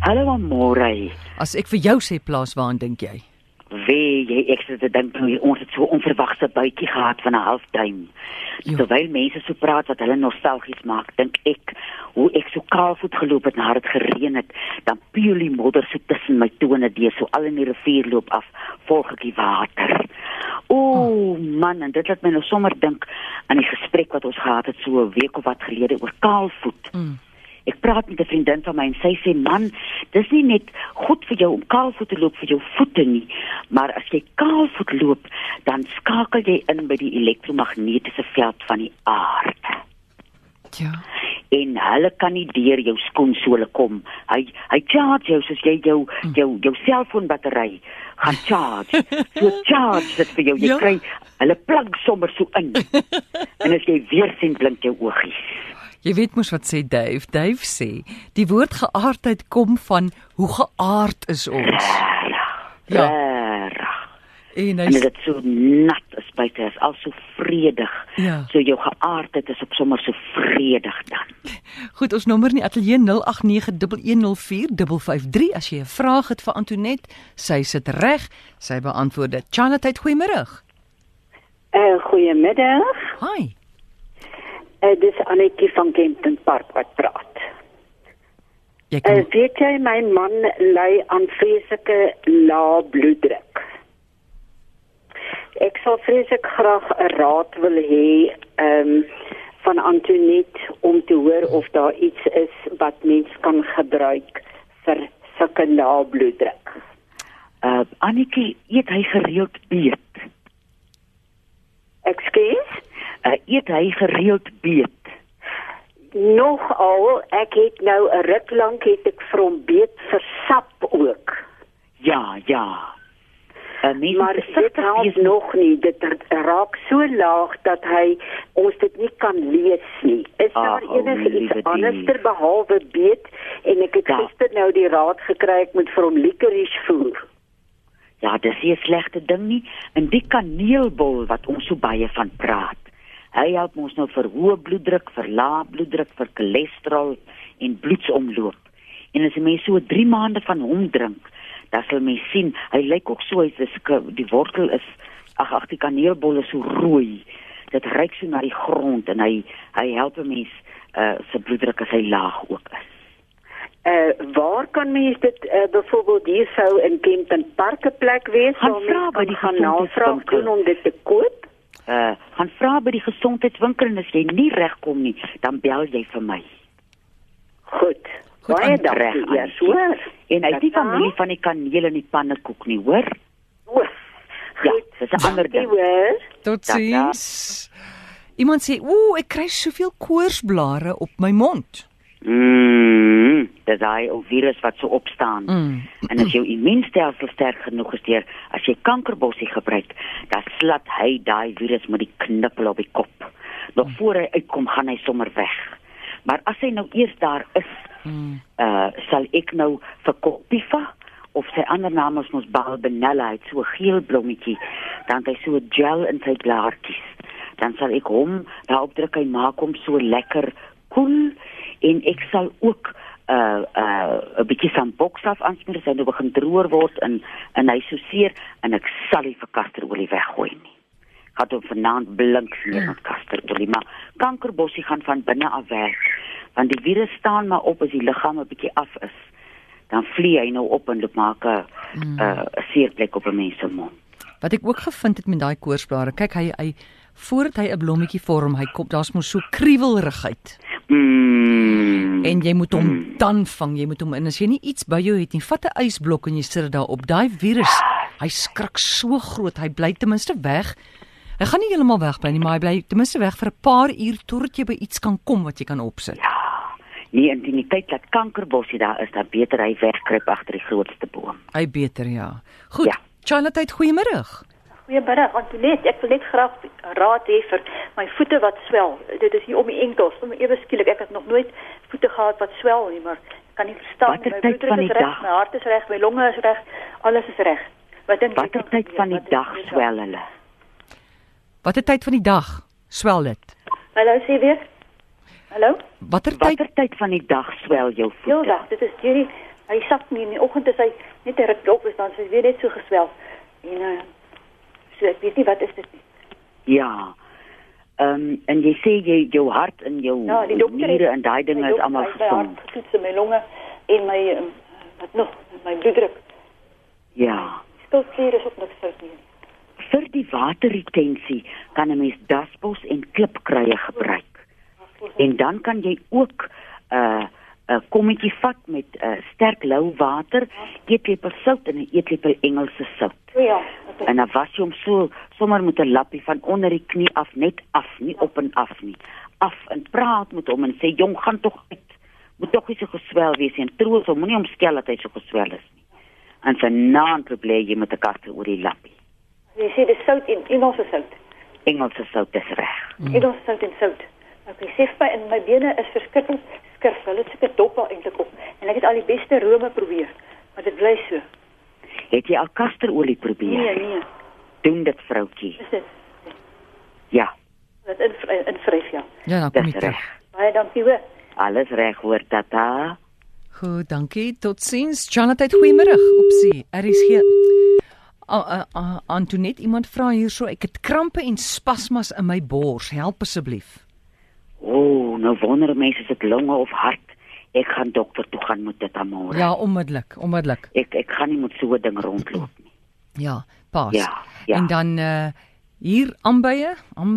Hallo Amore. As ek vir jou sê plaas, waaraan dink jy? Wee, jy ek sit te dink toe ons het so onverwagse buitjie gehad van 'n halfduim. Terwyl mense so praat wat hulle nostalgies maak, dink ek hoe ek so kaalvoet geloop het nadat dit gereën het, dan piel die modder so tussen my tone deur, so al in die rivier loop af, volg ek die water. Man, en dit laat my nou sommer dink aan die gesprek wat ons gehad het so 'n week of wat gelede oor kaalvoet. Ek praat met 'n vriendin van my en sy sê, man, dis nie net goed vir jou om kaalvoet te loop vir jou voete nie, maar as jy kaalvoet loop, dan skakel jy in by die elektromagnetiese veld van die aarde. Ja. En hulle kan nie deur jou skoensole kom. Hy charge jou soos jy jou selfoonbattery gaan charge. So charge dit vir jou. Jy kry, hulle plug sommer so in. En as jy weer sien blink jou oogies. Jy weet mos wat sê Dave. Dave sê, die woord geaardheid kom van hoe geaard is ons. En dit so nat is buite, is al so vredig. Ja. So jou geaardheid is op sommer so vredig dan. Goed, ons nommer in die ateljee 0891104553 as jy 'n vraag het vir Antoinette. Sy sit reg, sy beantwoord dit. Charlotte, goeiemôre. Goeiemiddag. Hi. Dis Annetjie van Kempton Park wat praat. Weet jy, my man ly aan vreeslike lae bloeddruk. Ek sal vreeslik graag 'n raad wil hê van Antoinette om te hoor of daar iets is wat mens kan gebruik vir sulke lae bloeddruk. Annetjie, eet hy gereeld beet? Ekskuus? Eet hy gereeld beet? Nogal, ek het nou 'n ruk lank het ek vir hom beet vir sap ook. Ja. Maar dit help nog nie, dit raak so laag dat ons dit nie kan lees nie. Is daar iets anders behalwe beet? En ek het gister nou die raad gekry, ek moet vir hom licorice voer. Ja, dis nie 'n slegte ding nie. En die kaneelbol wat ons so baie van praat, hy help ons nou vir hoë bloeddruk, vir lae bloeddruk, vir cholesterol en bloedsomloop. En as 'n mens so 3 maande van hom drink, dan sal mens sien, hy lyk ook so, die wortel is, die kaneelbol is so rooi, dit ruik so na die grond, en hy help 'n mens, sy bloeddruk as hy laag ook is. Waar kan mens dit, byvoorbeeld hier sou in Kempton Park 'n plek wees, waar mens gaan navraag doen om dit te koop? Gaan vra by die gesondheidswinkel, en as jy nie regkom nie, dan bel jy vir my. Goed, baie dankie, ja, hoor. En hy het die familie van die kaneel en die pannekoek nie, hoor? Ja, dis 'n ander ding. Tot ziens. Iemand sê, ek kry soveel koorsblare op my mond. Dis hy ou virus wat so opstaan. En as jou immuunstelsel sterk genoeg is as jy kankerbossie gebruik, dan slat hy daai virus met die knippel op die kop. Nog voor hy uitkom, gaan hy sommer weg. Maar as hy nou eers daar is, sal ek nou vir Copifa, of sy ander naam is ons Balbenella, hy het so 'n geel blommetjie, dan het hy so 'n gel in sy blaartjies. Dan sal ek hom daarop druk, hy maak hom so lekker koel, en ek sal ook 'n bietjie sambokstaf aansmeer, as hy nou begin droër word, en hy so seer, en ek sal nie vir kasterolie weggooi nie. Gaat hom vanaand blink smeer met kasterolie, maar kankerbossie gaan van binne af weg, want die virus staan maar op as die liggaam 'n bietjie af is, dan vlieg hy nou op en loop maak 'n seerplek op 'n mens se mond. Wat ek ook gevind het met daai koorsblare, kyk hy voordat hy 'n blommetjie vorm, hy kom, daar's mos so kriewelrigheid. En jy moet hom dan vang, jy moet hom, en as jy nie iets by jou het nie, vat 'n ysblok en jy sit dit daarop. Daai virus, hy skrik so groot, hy bly ten minste weg. Hy gaan nie heeltemal wegbly nie, maar hy bly ten minste weg vir 'n paar uur totdat jy by iets kan kom wat jy kan opsit. Ja, nie in die tyd dat kankerbossie daar is, dan beter hy wegkruip agter die grootste boom. Hy beter, ja. Goed, Charlotte, goeiemôre. Goeiemiddag, Antoinette. Ek wil net graag raad hê vir my voete wat swel. Dit is hier om die enkels. Ewe skielik, ek het nog nooit voete gehad wat swel nie, maar ek kan nie verstaan. My bloeddruk is reg, my hart is reg, my longe is reg, alles is reg. Watter tyd van die dag swel hulle? Watter tyd van die dag swel dit? Hallo, sê weer. Hallo? Watter tyd van die dag swel jou voete? Heeldag, dit is hierdie Hy sak nie, in die oggend is hy net 'n ruk op, is dan sy weer net so geswel. En so ek weet nie wat is dit nie. Ja. En jy sê jou hart en jou niere en daai dinge is almal gesond. My hart, my longe en my wat nog, my bloeddruk. Ja. Skildklier is ook niks fout nie. Vir die waterretensie kan 'n mens dasbos en klipkruie gebruik. En dan kan jy ook 'n kommetjie vat met sterk lou water, eetlepel sout en 'n eetlepel Engelse sout. Ja. En dan was jy hom sommer met 'n lappie van onder die knie af, net af, nie op en af nie. Af en praat met hom en sê jong, gaan tog uit. Moet tog nie so geswel wees en troos hom, moenie hom skel dat hy so geswel is nie. En sy naam probeer jy met 'n kaste oor die lappie. Jy sê dis sout en Engelse sout. Engelse sout is reg. Engelse sout en sout. Ek sê vir en my bene is verskriklik skurf. Hulle het seker dop al eintlik op. En ek het al die beste rome probeer, maar dit bly so. Het jy al kasterolie probeer? Nee. Doen dit, vroutjie. Is dit? Ja. Dat invryf, ja. Ja, dan kom Dis jy reg. terug. Baie dankie hoor. Alles reg hoor, tata. Goed, dankie. Totsiens. Charlotte, goeiemôre. Opsie. RSG. Antoinette, iemand vra hierso, ek het krampe en spasmas in my bors. Help asseblief. Nou wonder mense is dit longe of hart. Ek gaan dokter toe gaan met dit môre. Ja, onmiddellik. Ek gaan nie met so 'n ding rondloop nie. Ja, pas. Ja. En dan hier aanbye.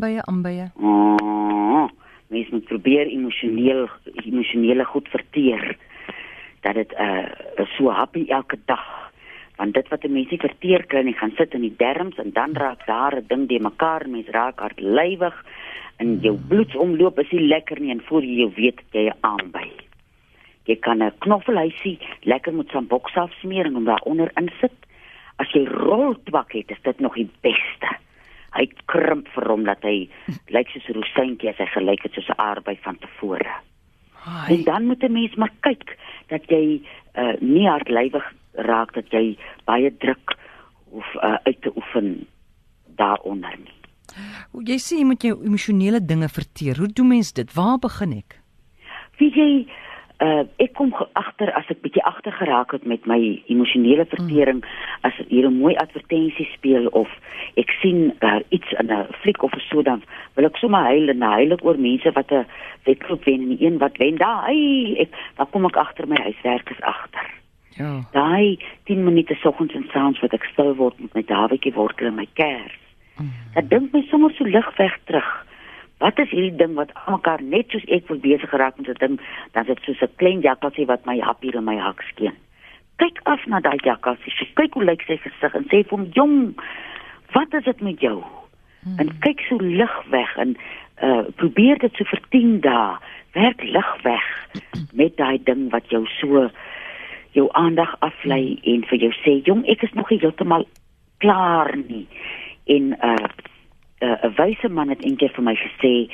Mens moet probeer emosionele goed verteer. Dat dit so happy elke dag. Want dit wat 'n mens nie verteer kry nie, gaan sit in die darmes en dan raak daar 'n ding die mekaar, mens raak hartlywig en jou bloedsomloop is nie lekker nie en voor jy jou weet jy aanby. Jy kan 'n knoffelhuisie lekker met sambok afsmeer en hom daaronder insit. As jy roltwak het, is dit nog die beste. Hy krimp vir hom dat hy lyk soos 'n rosientjie as hy gelyk het soos 'n aardbei van tevore. En dan moet 'n mens maar kyk dat jy nie hartlywig raak, dat jy baie druk hoef uit te oefen daaronder nie. Jy sê jy moet jou emosionele dinge verteer. Hoe doen mens dit? Waar begin ek? Wie jy ek kom agter as ek bietjie agter geraak het met my emosionele vertering, as hier 'n mooi advertensie speel of ek sien iets in 'n fliek of so, dan wil ek sommer huil en huil ek oor mense wat 'n wedloop wen en die een wat wen. Dan kom ek agter my huiswerk is agter. Ja. Daai 10 minute soggens en saans wat ek stil word met my dawietjie wortel en my kers. Dat dink my sommer so lig weg terug. Wat is hierdie ding wat almekaar net soos ek wil besig geraak met 'n ding, dan is dit soos 'n klein jakkalsie wat my hap hier in my hak skeen. Kyk af na daai jakkalsie, kyk hoe lyk sy gesig en sê vir hom, jong, wat is dit met jou? En kyk so lig weg en probeer dit so vir 10 dae, werk lig weg met daai ding wat jou so jou aandag aflei en vir jou sê, jong, ek is nog nie heeltemal klaar nie. En 'n wyse man het eendag vir my gesê,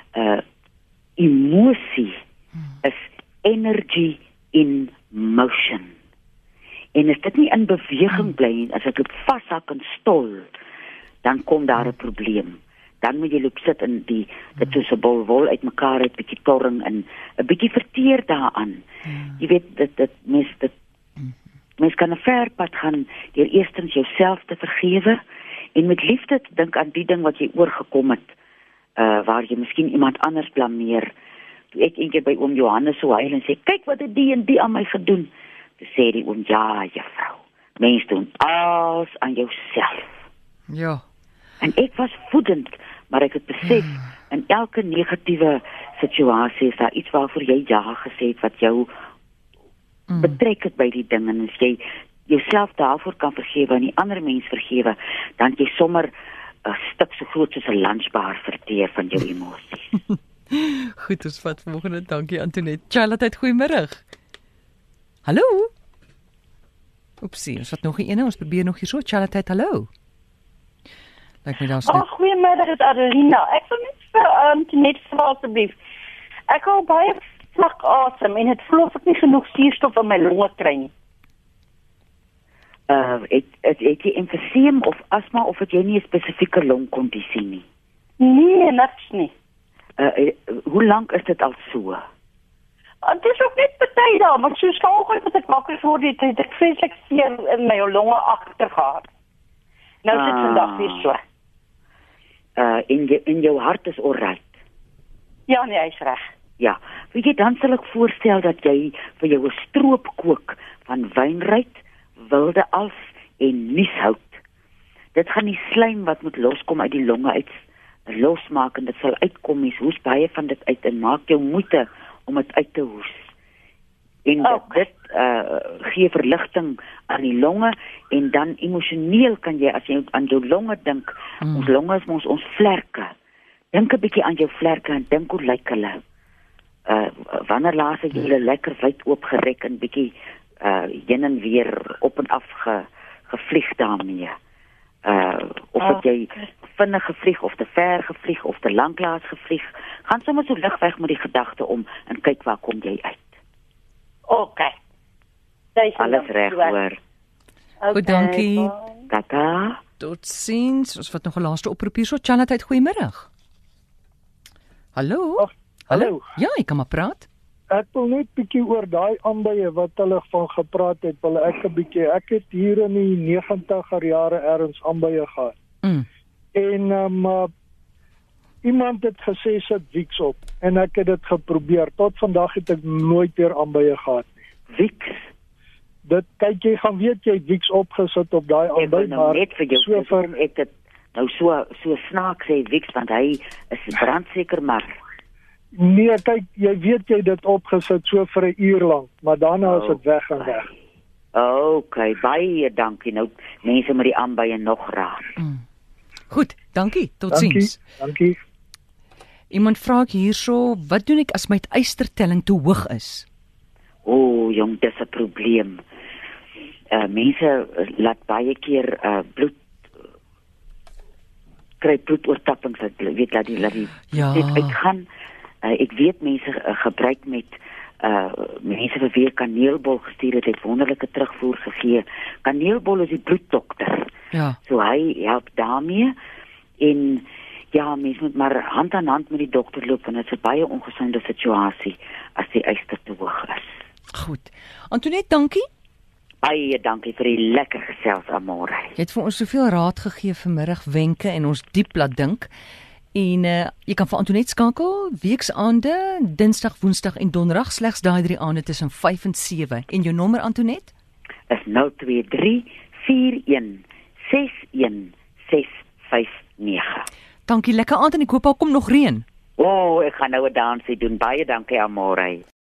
emosie is energy in motion. En as dit nie in beweging bly nie, as ek dit vashak en stol, dan kom daar 'n probleem. Dan moet jy loop sit in dit soos 'n bol wol uitmekaar uit, bietjie torring en 'n bietjie verteer daaraan. Jy weet dit mens kan 'n ver pad gaan deur eerstens jouself te vergewe en met liefde te dink aan die ding wat jy oorgekom het, waar jy miskien iemand anders blameer. Toe ek eendag by oom Johannes so huil en sê, kyk wat het die en die aan my gedoen. Toe sê die oom, ja juffrou, mens doen alles aan jouself. Ja. En ek was woedend, maar ek het besef, in elke negatiewe situasie is daar iets waarvoor jy ja gesê het, wat jou betrek het by die ding, en as jy jouself daarvoor kan vergewe en die ander mens vergewe, dan jy sommer 'n stuk so groot soos 'n lunchbar verteer van jou emosies. Goed, ons vat volgende. Dankie Antoinette. Charlotte, goeiemôre. Hallo. Oepsie, ons vat nog 'n ene, ons probeer nog hier so. Charlotte, hallo. Lyk my daar's net. Goeiemôre, dit is Adelina. Ek wil net vir Antoinette vra asseblief. Ek hou baie vlak asem en dit voel of ek nie genoeg suurstof in my longe kry nie. Het jy emfyseem of asma of het jy nie 'n spesifieke longkondisie nie? Nee, niks nie. Hoe lank is dit al so? Het is ook net party daar, maar soos vanoggend wat ek wakker word, het ek vreeslik seer in my longe agter gehad. Nou sit vandag weer so. In jou hart is alright. Ja, nee, hy is reg. Ja, weet jy, dan sal ek voorstel dat jy vir jou 'n stroop kook van wynruit, wilde als en nieshout. Dit gaan die slijm wat moet loskom uit die longe uit losmaak en dit sal uitkom, mens hoes baie van dit uit en maak jou moeite om dit uit te hoes. En dit gee verligting aan die longe en dan emosioneel kan jy, as jy aan jou longe dink, ons longe is ons vlerke. Dink 'n bietjie aan jou vlerke en dink hoe lyk hulle. Wanneer laas het jy hulle lekker wyd oopgerek en bietjie heen en weer op en af gevlieg daarmee. Of het jy vinnig gevlieg of te ver gevlieg of te lanklaas gevlieg, gaan sommer so lig weg met die gedagte om en kyk waar kom jy uit. Okay. Alles reg hoor. Goed, dankie. Tata. Totsiens. Ons vat nog 'n laaste oproep hierso. Chanat, goeiemiddag. Hallo? Hallo. Ja, ek kan maar praat. Ek wil net bietjie oor daai aanbye wat hulle van gepraat het, wil ek 'n bietjie. Ek het hier in die 90er jare ergens aanbye gehad. En iemand het gesê sit Vicks op en ek het dit geprobeer. Tot vandag het ek nooit weer aanbye gehad nie. Vicks. Dit kyk jy gaan weet jy Vicks opgesit op daai aanby, maar net vir jou ek dit nou so snaaks sê Vicks want hy is brandseker maar. Nee, kyk, jy weet jy dit opgesit so vir 'n uur lank, maar daarna is dit weg en weg. Okay, baie dankie. Nou mense met die aanbye nog raak. Goed, dankie. Totsiens. Dankie. Iemand vra ek hierso, wat doen ek as my ystertelling te hoog is? Jong, dis 'n probleem. Mense laat baie keer kry bloedoortappings, weet laat die dit uitgaan. Ek weet mense gebruik met mense vir wie kaneelbol gestuur het wonderlike terugvoer gegee. Kaneelbol is die bloeddokter. Ja. So hy help daarmee en ja, mens moet maar hand aan hand met die dokter loop en dit is 'n baie ongesonde situasie as die yster te hoog is. Goed. Antoinette, dankie. Baie dankie vir die lekker gesels, Amore. Jy het vir ons soveel raad gegee vanmiddag, wenke en ons diep laat dink. En jy kan vir Antoinette skakel weksaande, Dinsdag, Woensdag en Donderdag, slegs daai 3 aande tussen 5 en 7. En jou nommer, Antoinette? Is 023 41 61 659. Dankie, lekker aand en ek hoop daar kom nog reën. Ek gaan nou 'n dansie doen. Baie dankie, Amore.